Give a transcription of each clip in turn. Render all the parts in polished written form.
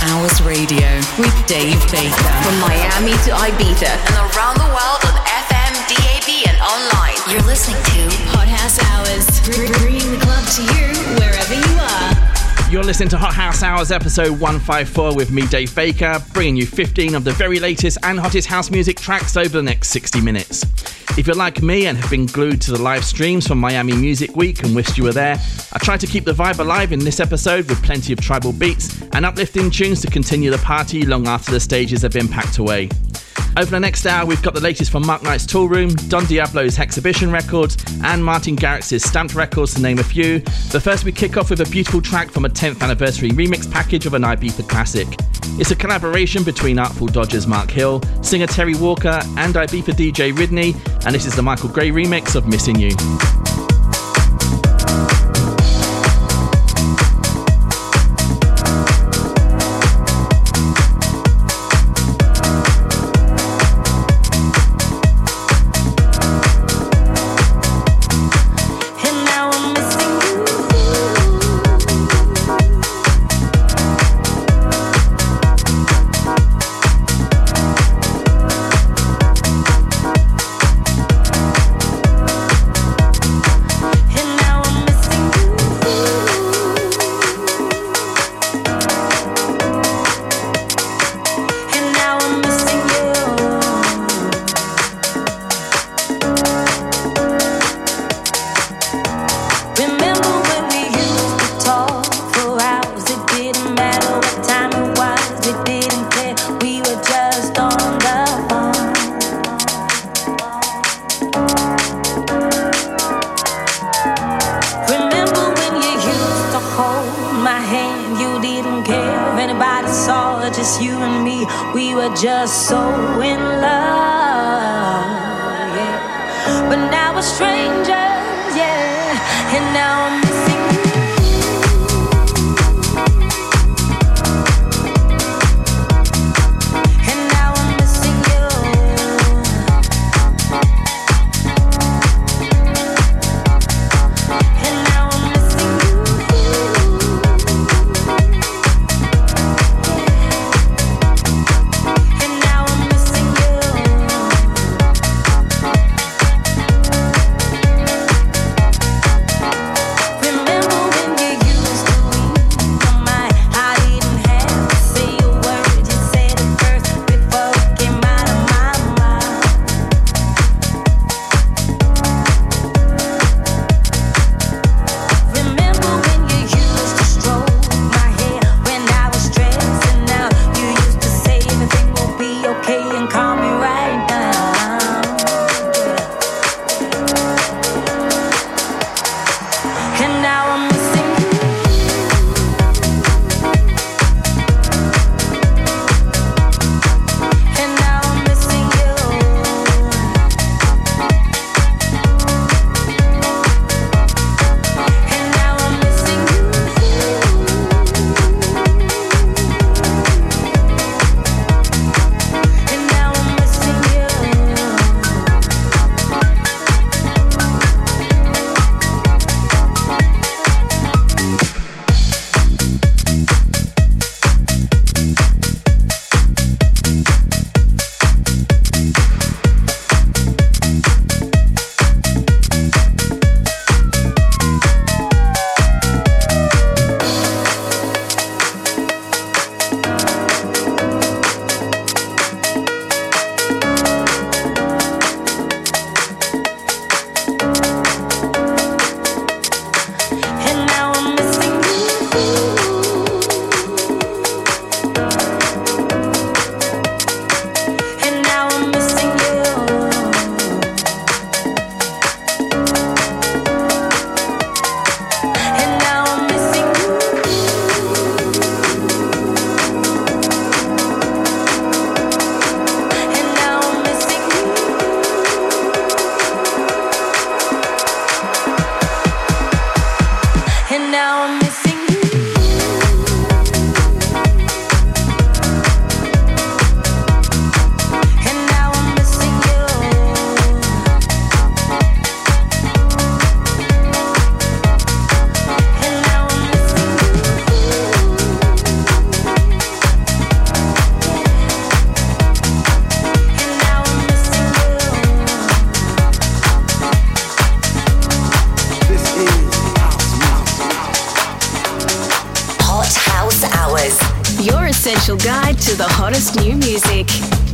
Hours Radio with Dave Baker. From Miami to Ibiza and around the world on FM, DAB and online. You're listening to Hot House Hours, bringing the club to you wherever you are. You're listening to Hot House Hours episode 154 with me, Dave Baker, bringing you 15 of the very latest and hottest house music tracks over the next 60 minutes. If you're like me and have been glued to the live streams from Miami Music Week and wished you were there, I tried to keep the vibe alive in this episode with plenty of tribal beats and uplifting tunes to continue the party long after the stages have been packed away. Over the next hour, we've got the latest from Mark Knight's Tool Room, Don Diablo's Hexhibition Records, and Martin Garrix's Stamped Records, to name a few. But first, we kick off with a beautiful track from a 10th anniversary remix package of an Ibiza classic. It's a collaboration between Artful Dodger's Mark Hill, singer Terry Walker, and Ibiza DJ Ridney, and this is the Michael Gray remix of Missing You. Just so in love, yeah. But now we're strangers, yeah. And now I'm essential guide to the hottest new music.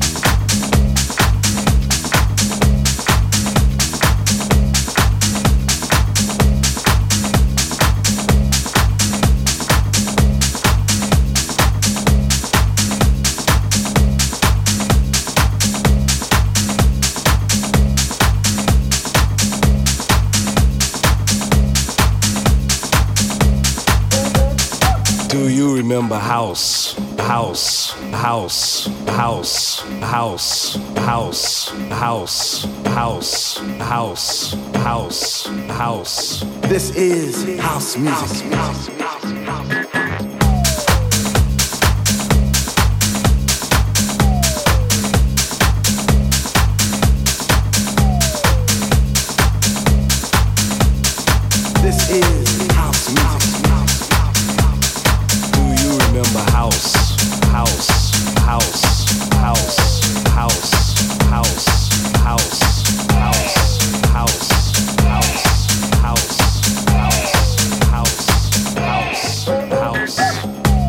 Do you remember house, house, house, house, house, house, house, house, house, house, house? This is house music. This is house music. Remember house, house, house, house, house, house, house, house, house, house, house, house, house, house.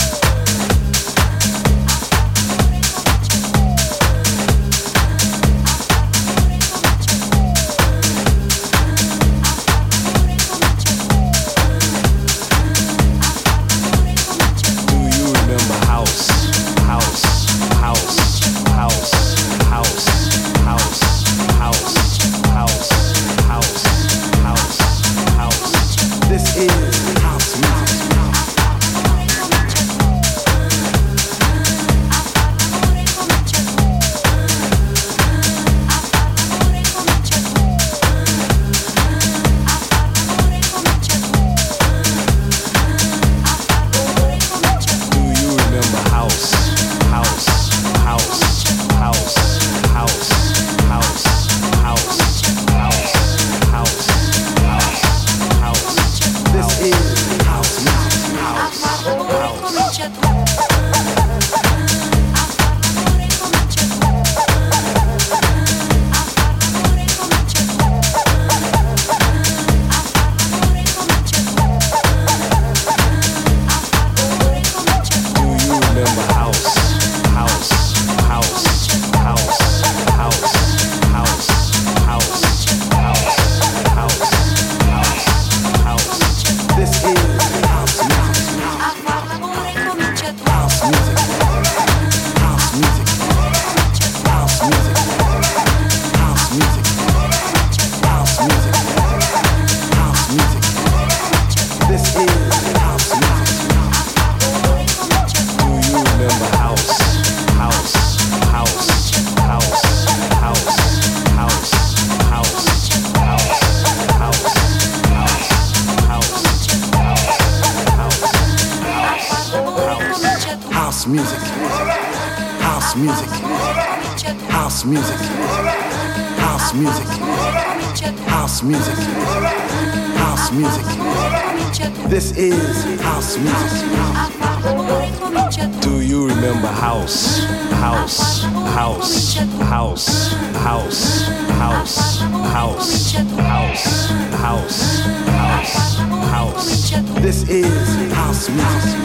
This is house music. Do you remember house, house, house, house, house, house, house, house, house, house, house? This is house music.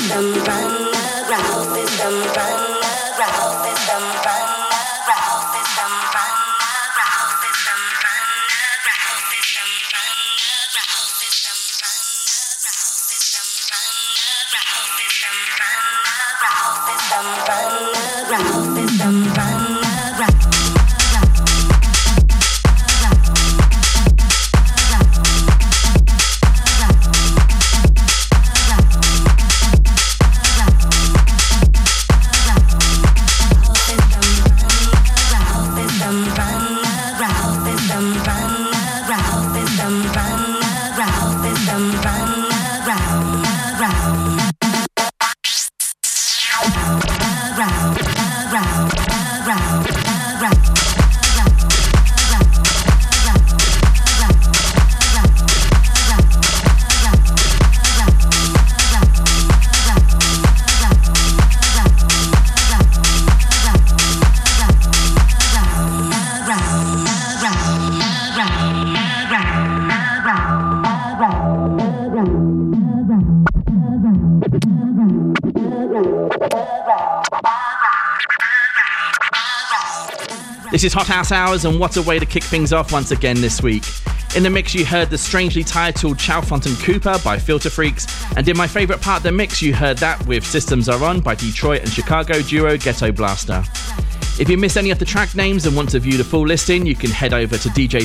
This is Hot House Hours, and what a way to kick things off once again this week. In the mix you heard the strangely titled Chow Fontaine Cooper by Filter Freaks, and in my favourite part of the mix you heard that with Systems Are On by Detroit and Chicago duo Ghetto Blaster. If you missed any of the track names and want to view the full listing, you can head over to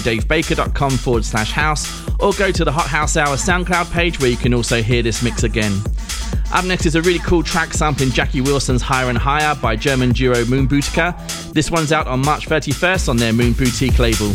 djdavebaker.com/house or go to the Hot House Hour SoundCloud page where you can also hear this mix again. Up next is a really cool track sampling Jackie Wilson's Higher and Higher by German duo Moon Boutica. This one's out on March 31st on their Moon Boutique label.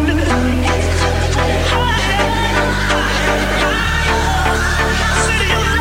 City of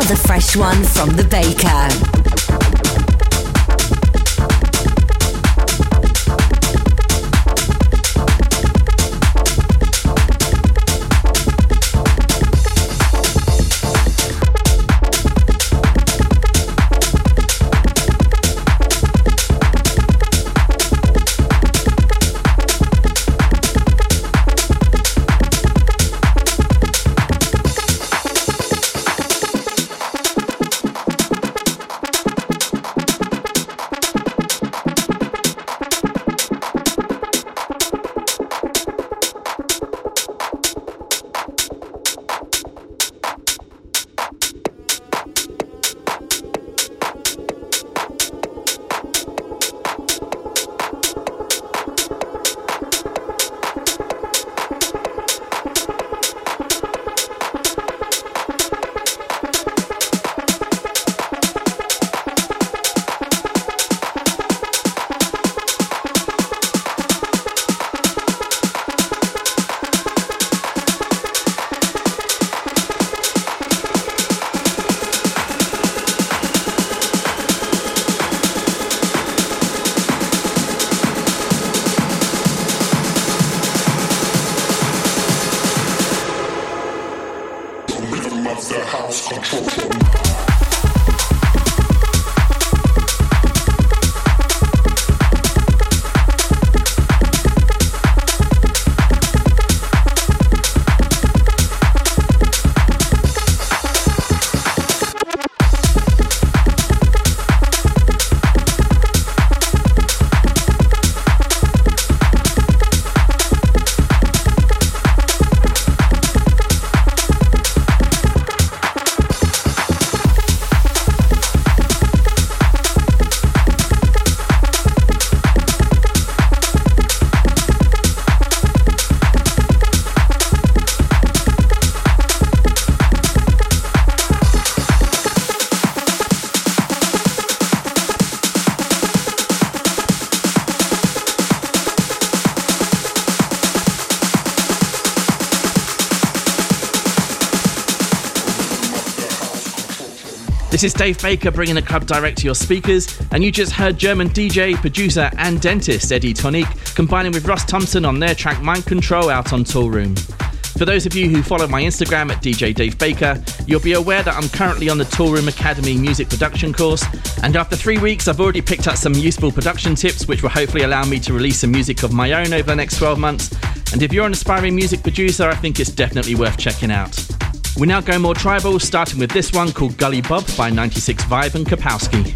another fresh one from The Baker. This is Dave Baker bringing the club direct to your speakers, and you just heard German DJ, producer and dentist Eddie Tonique combining with Ross Thompson on their track Mind Control out on Toolroom. For those of you who follow my Instagram at DJ Dave Baker, you'll be aware that I'm currently on the Toolroom Academy music production course, and after 3 weeks I've already picked up some useful production tips which will hopefully allow me to release some music of my own over the next 12 months, and if you're an aspiring music producer I think it's definitely worth checking out. We now go more tribal, starting with this one called Gully Bob by 96 Vibe and Kapowski.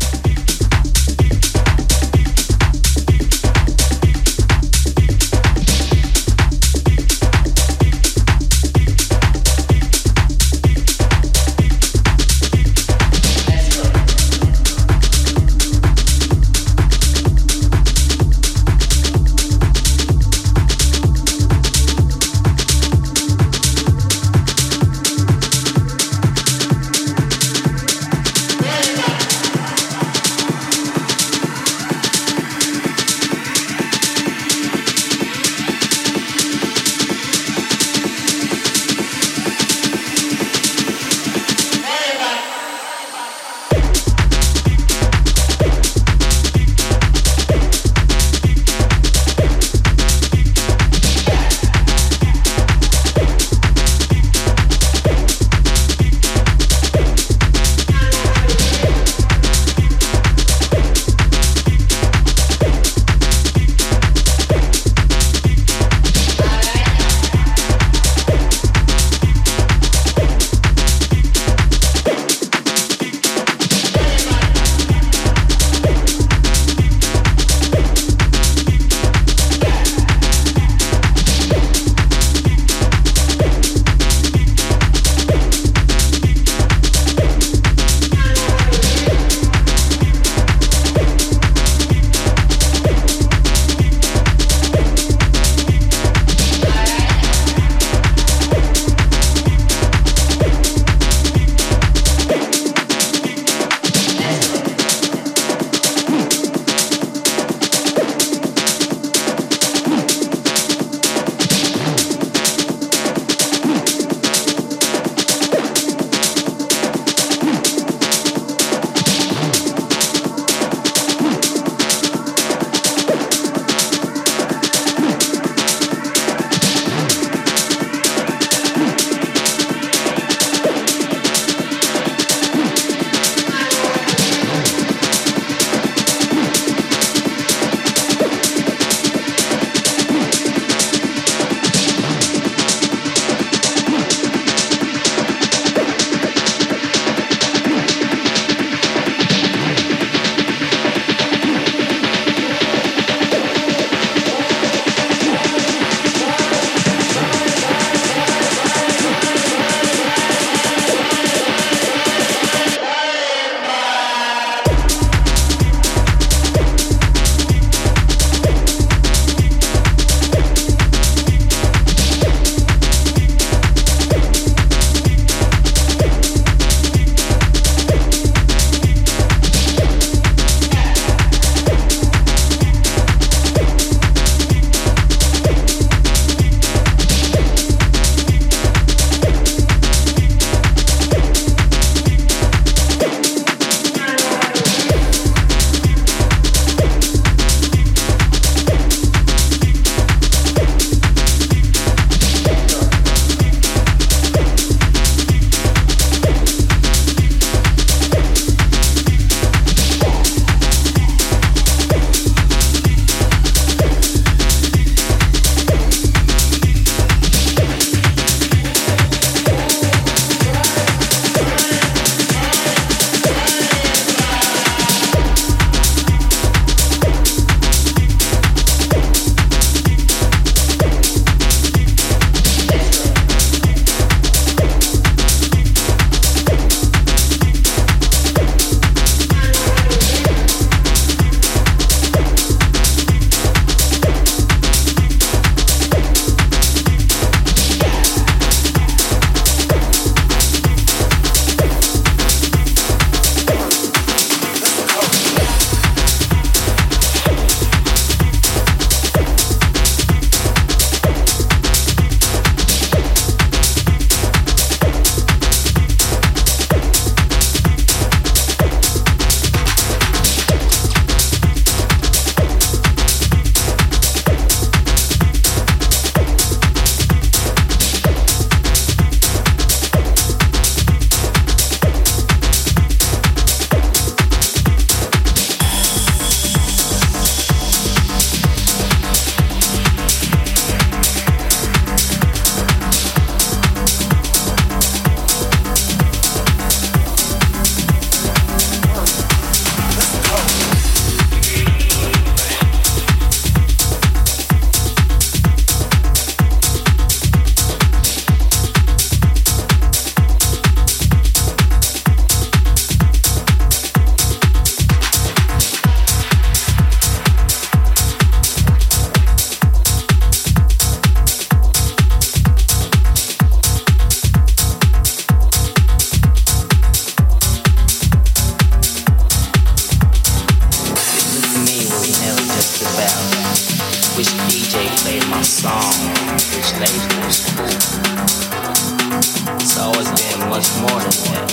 which DJ played my song, which label was cool. It's always been much more than that.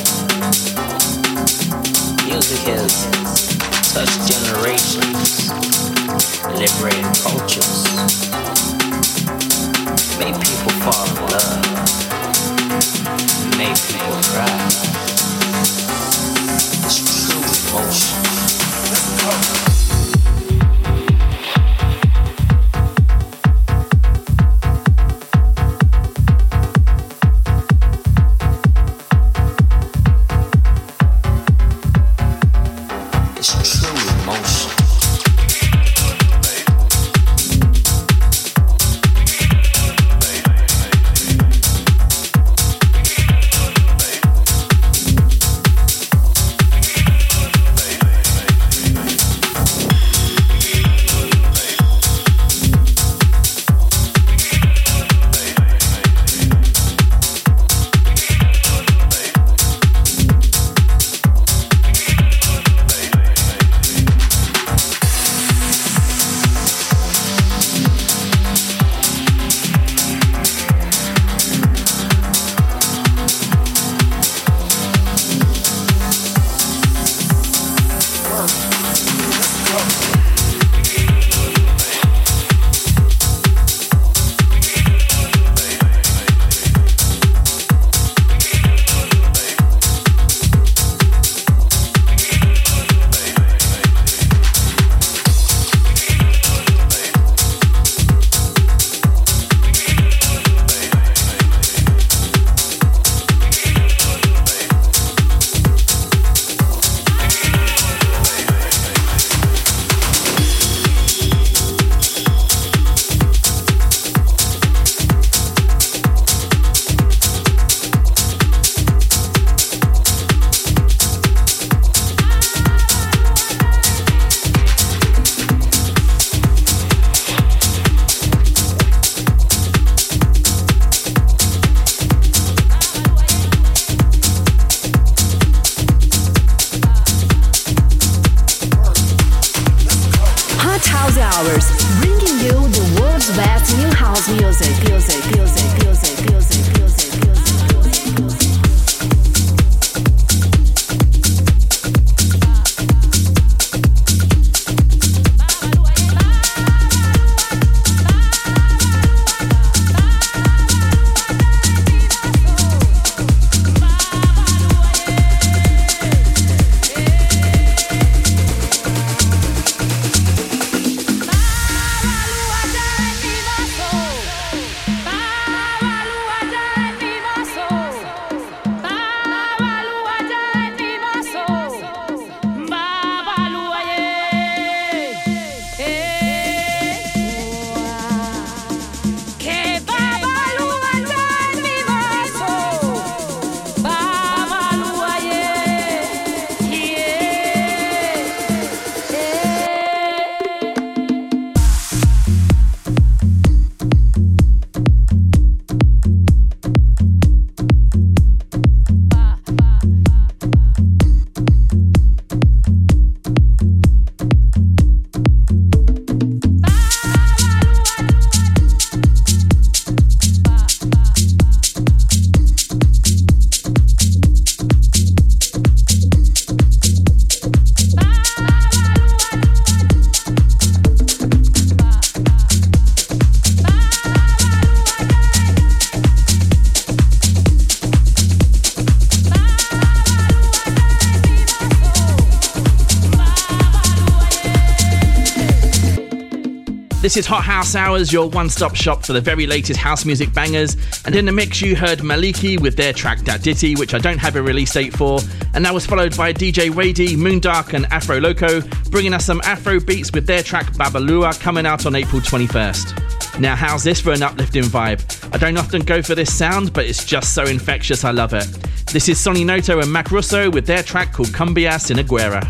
Music has touched generations, liberated cultures, made people fall in love, made people cry. It's true emotion. Let's go. This is Hot House Hours, your one-stop shop for the very latest house music bangers. And in the mix, you heard Maliki with their track Dat Ditty, which I don't have a release date for. And that was followed by DJ Wadey, Moondark and Afro Loco, bringing us some Afro beats with their track Babalua, coming out on April 21st. Now, how's this for an uplifting vibe? I don't often go for this sound, but it's just so infectious, I love it. This is Sonny Noto and Mac Russo with their track called Cumbia Sinaguera.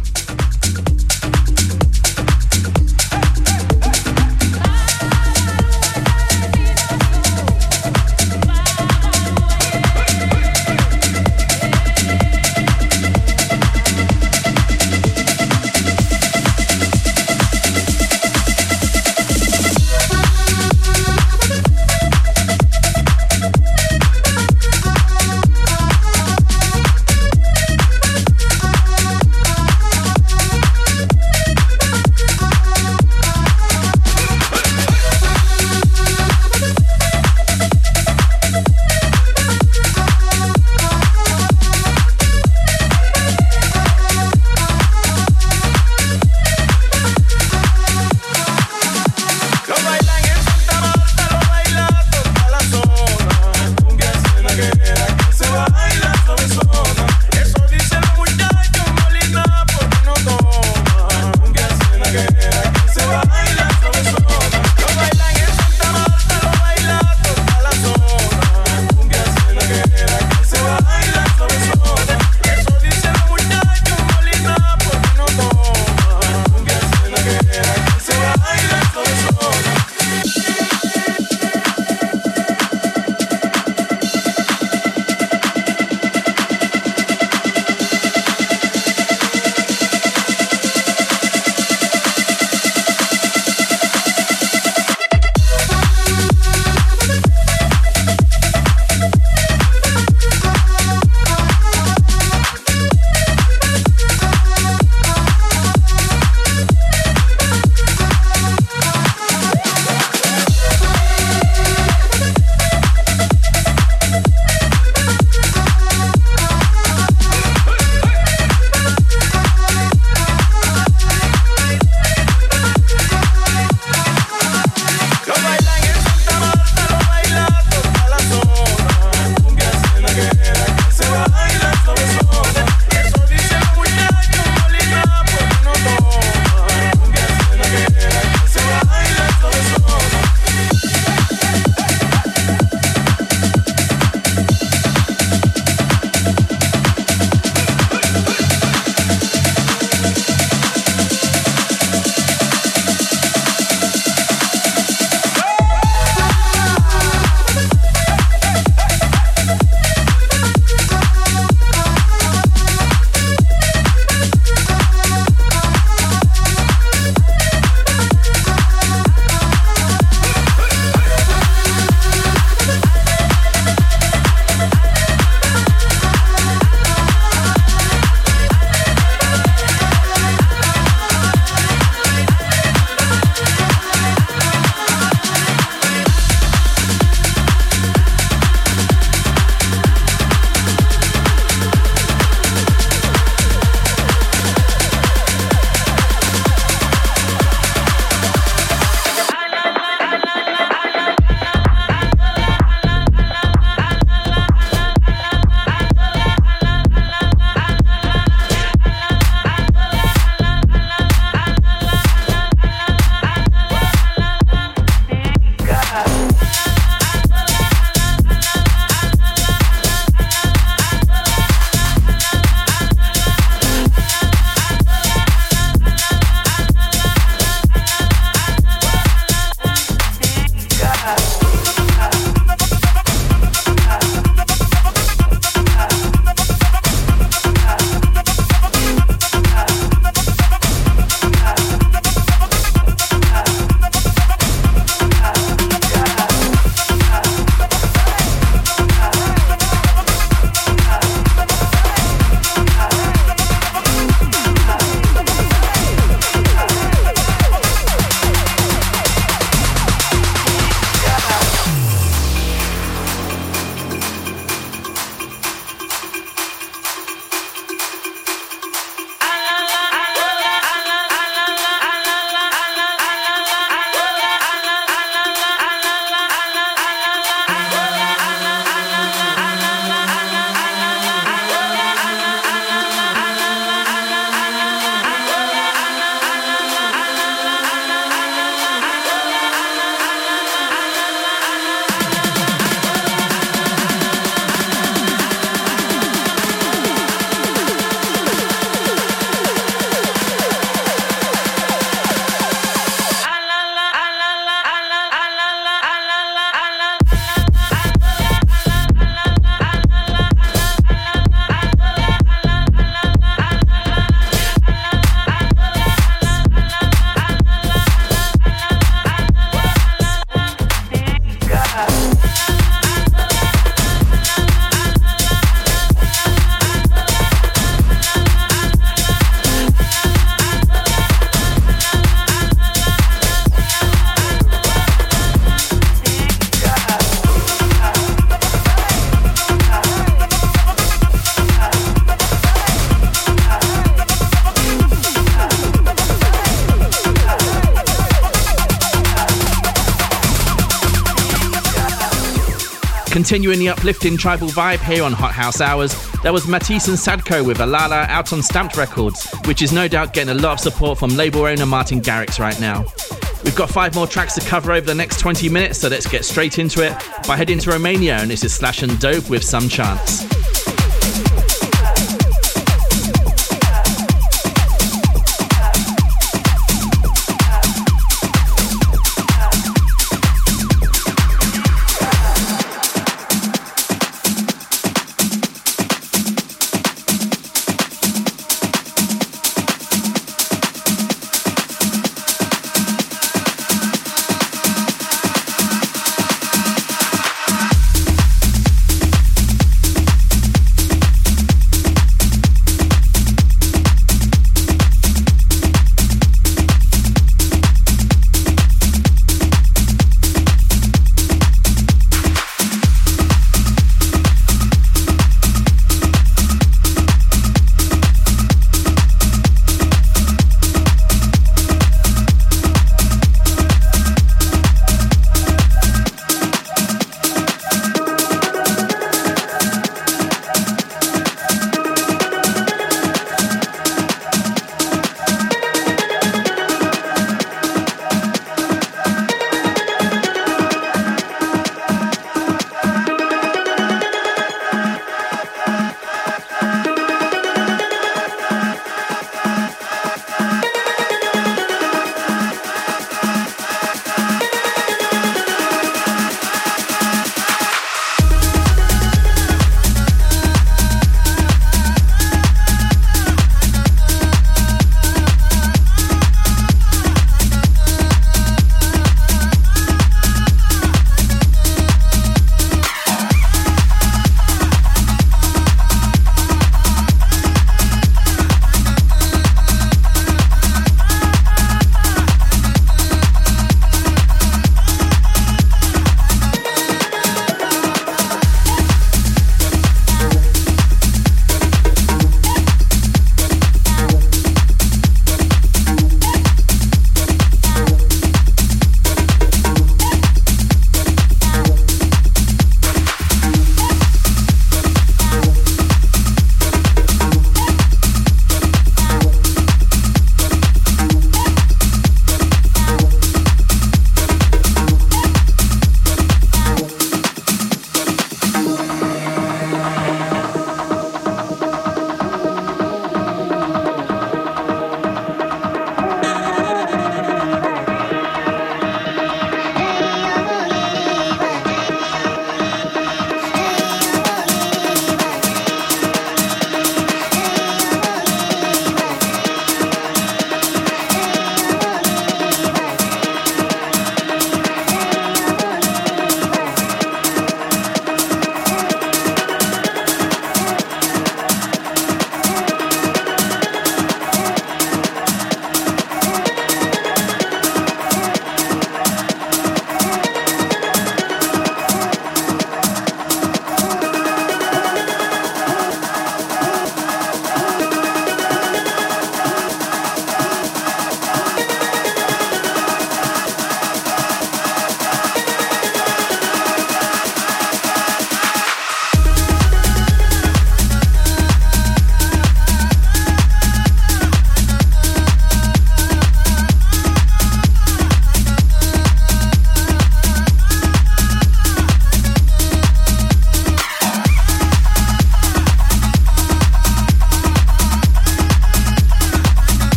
Continuing the uplifting tribal vibe here on Hot House Hours, there was Matisse and Sadko with Alala out on Stamped Records, which is no doubt getting a lot of support from label owner Martin Garrix right now. We've got 5 more tracks to cover over the next 20 minutes, so let's get straight into it by heading to Romania, and this is Slash and Dope with Some Chance.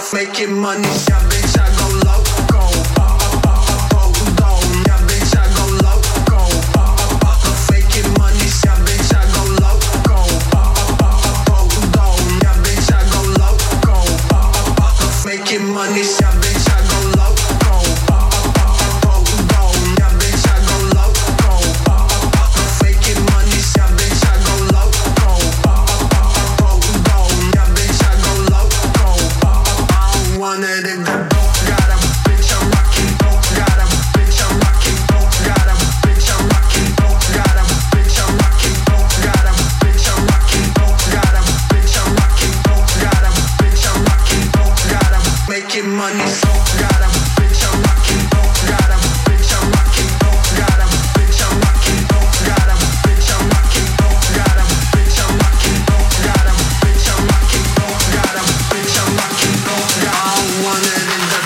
making money. Yeah, bitch, I go loco. Yeah, bitch, I go loco. Making money. Yeah, bitch, I go loco. Yeah, bitch, I go loco. Making money. Yeah, bitch, I go loco. Yeah, bitch, I go loco. Making money. Yeah, bitch, I go loco. Yeah, bitch, I go loco. I don't want it if that got a bitch I'm rocking. Got a bitch I'm rocking. Got a bitch I'm rocking. Got a bitch I'm rocking. Got a bitch I'm rocking. Got a bitch I'm rocking. Got a bitch I'm rocking. Got a making money. Got a bitch I'm rocking. Got a bitch I'm rocking. Got a bitch I'm rocking. Got a bitch I'm rocking. Got a bitch I'm rocking. Got a bitch I'm rocking. Got a bitch I'm rocking. I don't want it in the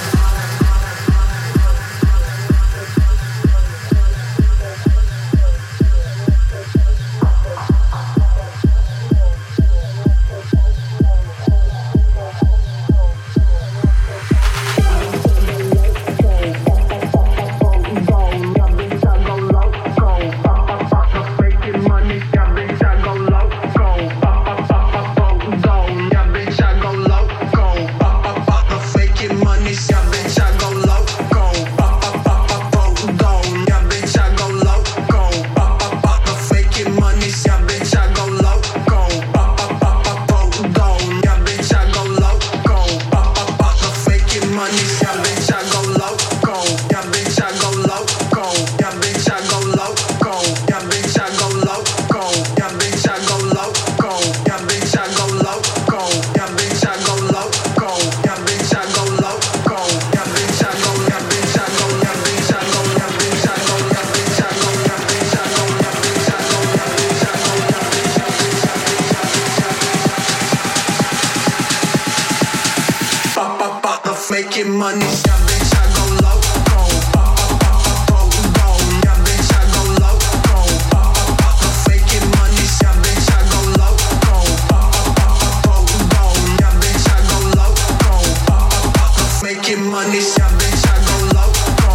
making money. Yeah, bitch, I go loco. Yeah, bitch, I go loco. Making money. Yeah, bitch, I go loco. Yeah, bitch, I go loco. Making money. Yeah, bitch, I go loco.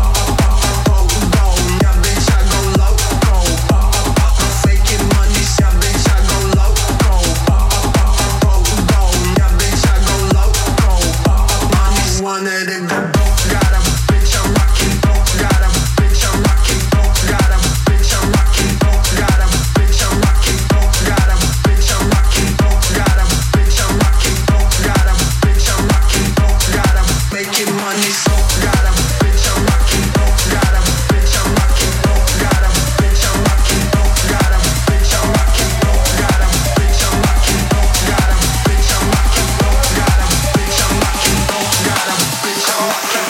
Yeah, bitch, I go loco. Making money. Yeah, bitch, I go loco. Yeah, bitch, I go loco. Wanted it, got a bitch I'm rocking, got a bitch I'm rocking, got a bitch I'm rocking, got a bitch I'm rocking, got a bitch I'm rocking, got a bitch I'm rocking, got a bitch I'm rocking, got a making money, got a bitch I'm rocking, got a bitch I'm rocking, got a bitch I'm rocking, got a bitch I'm rocking, got a bitch I'm rocking, got a bitch I'm rocking, got a bitch I'm rocking, got a bitch I'm rocking.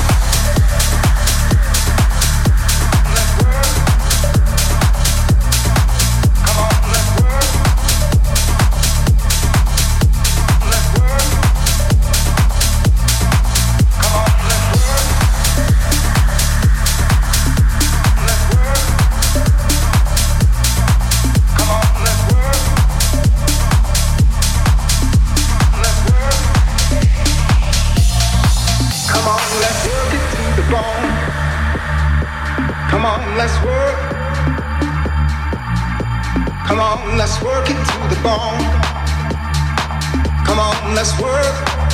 Let's work it to the bone. Come on, let's work.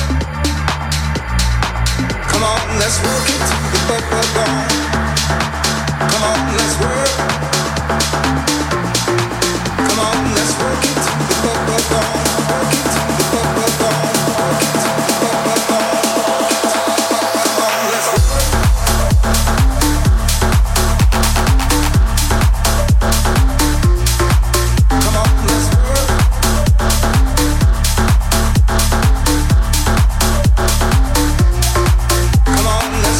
Come on, let's work it to the bone. Come on, let's work. Come on, let's work it to the bone. Work it to the bone. Work it to the bone. Come on, let's work.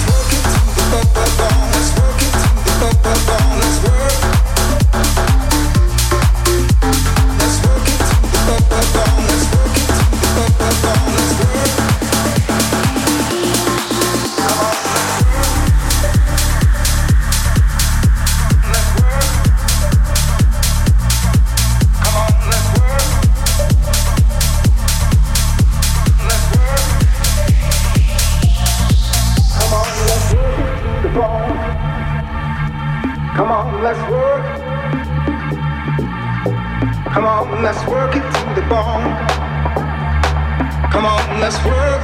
Let's work. Come on, let's work it to the bone. Come on, let's work.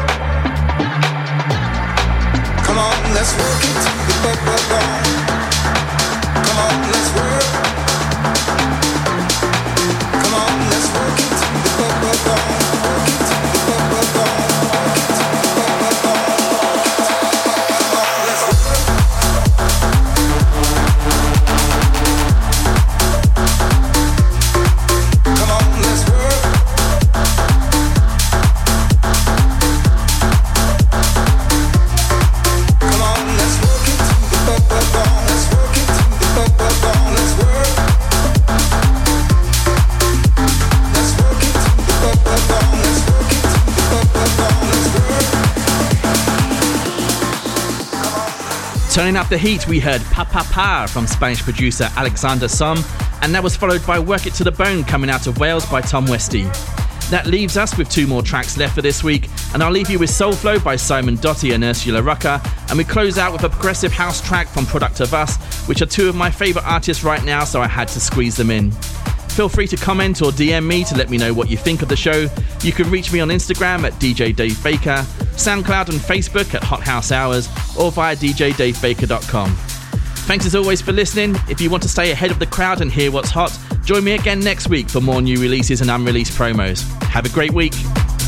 Come on, let's work it to the bone. Come on, let's work. Come on, let's work it to the bone. Work it to the bone. Work it to the bone. Come on, let's work. Come on, let's work. Come on, let's work it to the bone. Let's work it to the bone. Let's work. Let's work it to the bone. Let's work it to the bone. Let's work. Turning up the heat, we heard Pa Pa Pa from Spanish producer Alexander Som, and that was followed by Work It to the Bone coming out of Wales by Tom Westy. That leaves us with 2 more tracks left for this week, and I'll leave you with Soul Flow by Simon Doty and Ursula Rucker, and we close out with a progressive house track from Product of Us, which are 2 of my favourite artists right now, so I had to squeeze them in. Feel free to comment or DM me to let me know what you think of the show. You can reach me on Instagram at DJ Dave Baker, SoundCloud and Facebook at Hot House Hours, or via djdavebaker.com. Thanks as always for listening. If you want to stay ahead of the crowd and hear what's hot, join me again next week for more new releases and unreleased promos. Have a great week.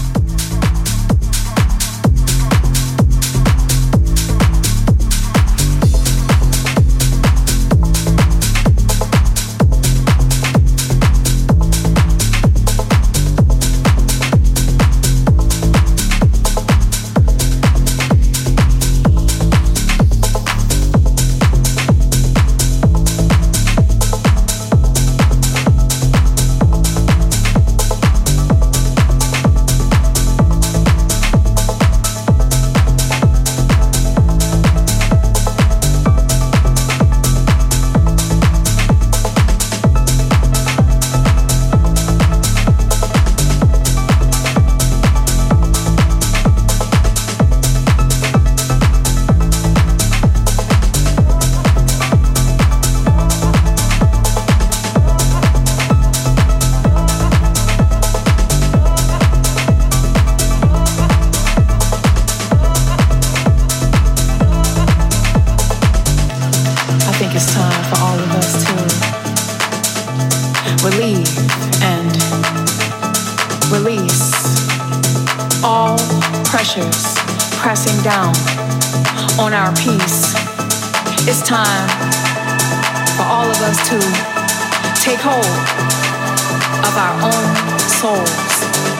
Pressing down on our peace. It's time for all of us to take hold of our own souls.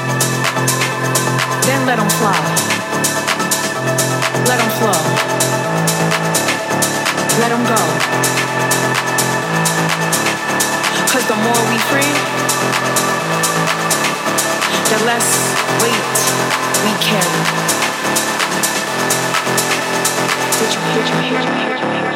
Then let them fly. Let them flow. Let them go. 'Cause the more we free, the less weight we carry. Did you hear?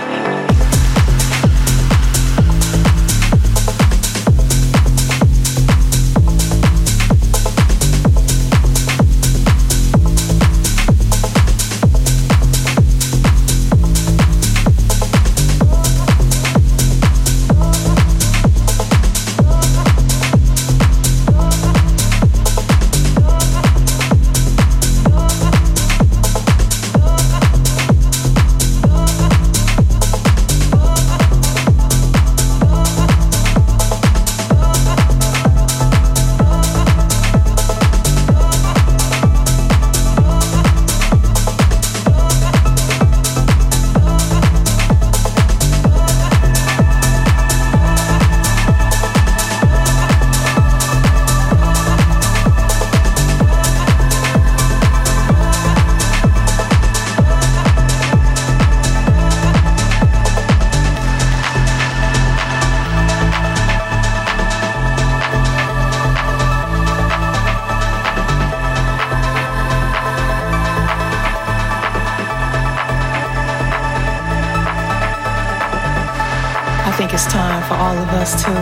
It's time for all of us to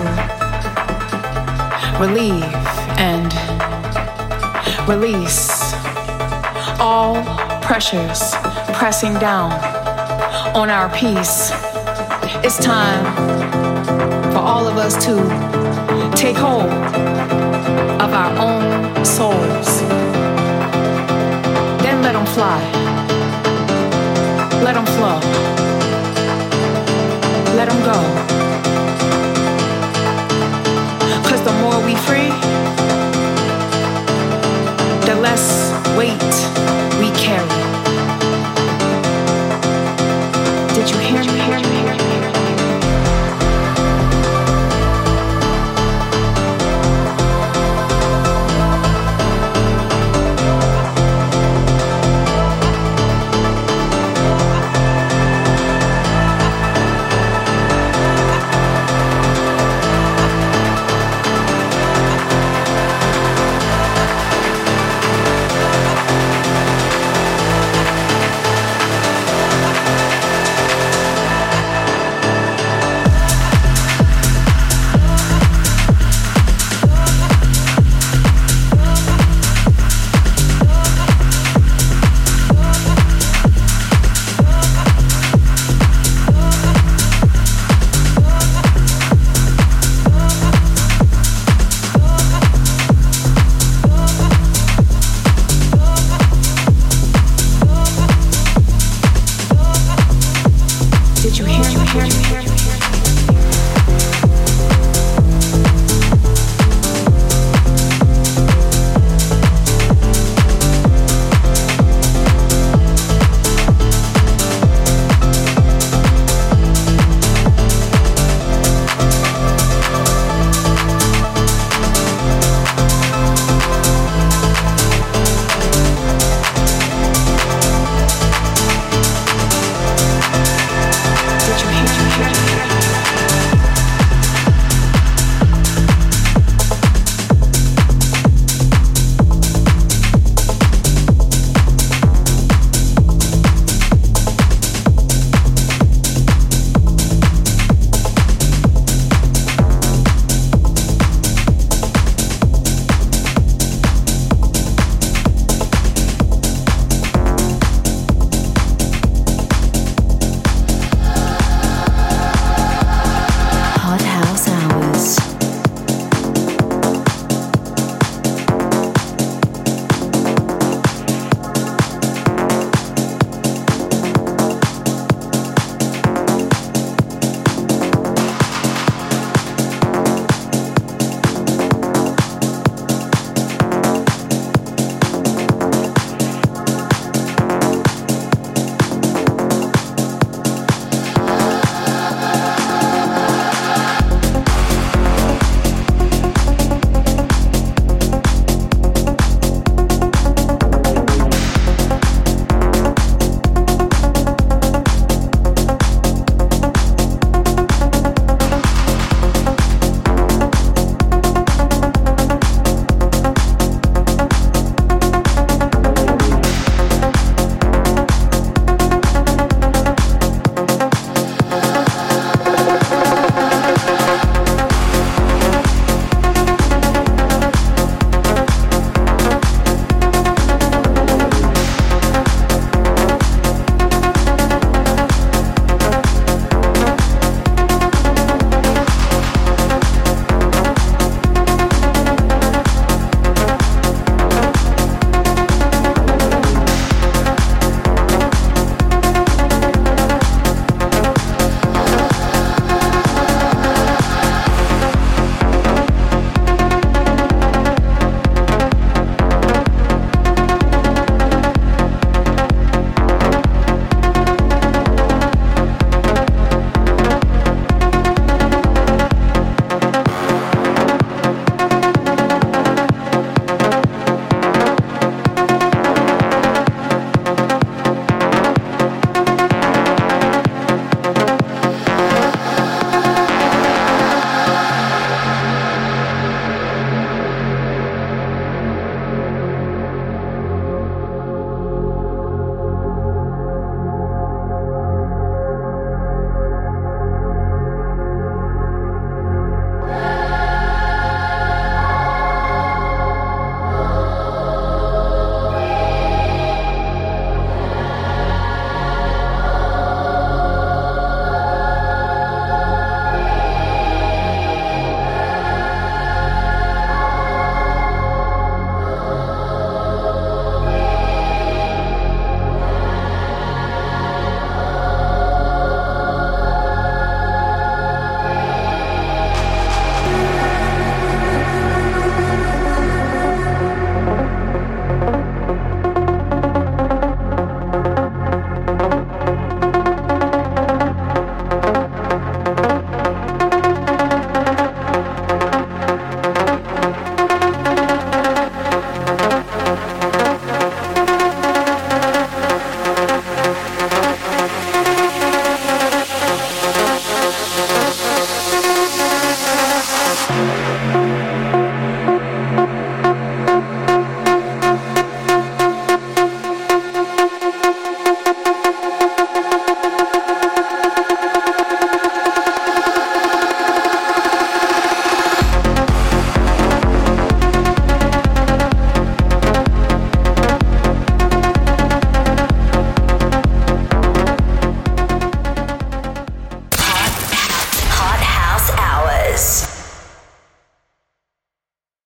relieve and release all pressures pressing down on our peace. It's time for all of us to take hold of our own souls. Then let them fly. Let them flow. Let them go. 'Cause the more we free,